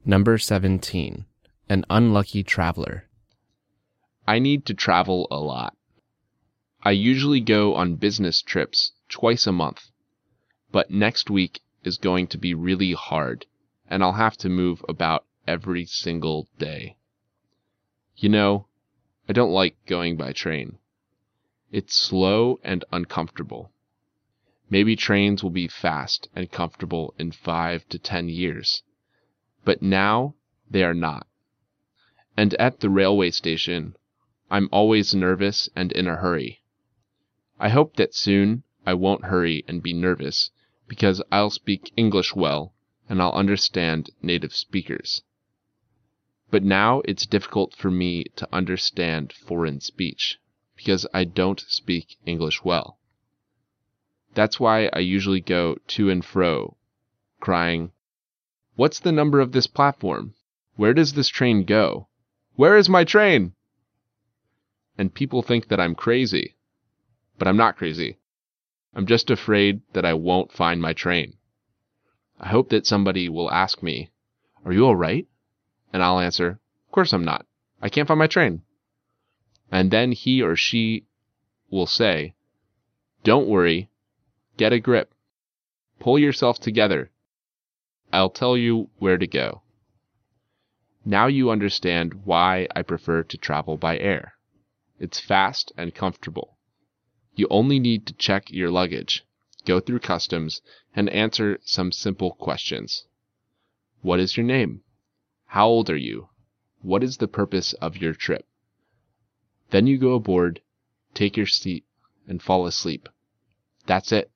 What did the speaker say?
Number 17. An unlucky traveler. I need to travel a lot. I usually go on business trips twice a month, but next week is going to be really hard, and I'll have to move about every single day. You know, I don't like going by train. It's slow and uncomfortable. Maybe trains will be fast and comfortable in 5 to 10 years, but now they are not. And at the railway station, I'm always nervous and in a hurry. I hope that soon I won't hurry and be nervous, because I'll speak English well and I'll understand native speakers. But now it's difficult for me to understand foreign speech, because I don't speak English well. That's why I usually go to and fro, crying, "What's the number of this platform? Where does this train go? Where is my train?" And people think that I'm crazy. But I'm not crazy. I'm just afraid that I won't find my train. I hope that somebody will ask me, "Are you all right?" And I'll answer, "Of course I'm not. I can't find my train." And then he or she will say, "Don't worry. Get a grip. Pull yourself together. I'll tell you where to go." Now you understand why I prefer to travel by air. It's fast and comfortable. You only need to check your luggage, go through customs, and answer some simple questions. What is your name? How old are you? What is the purpose of your trip? Then you go aboard, take your seat, and fall asleep. That's it.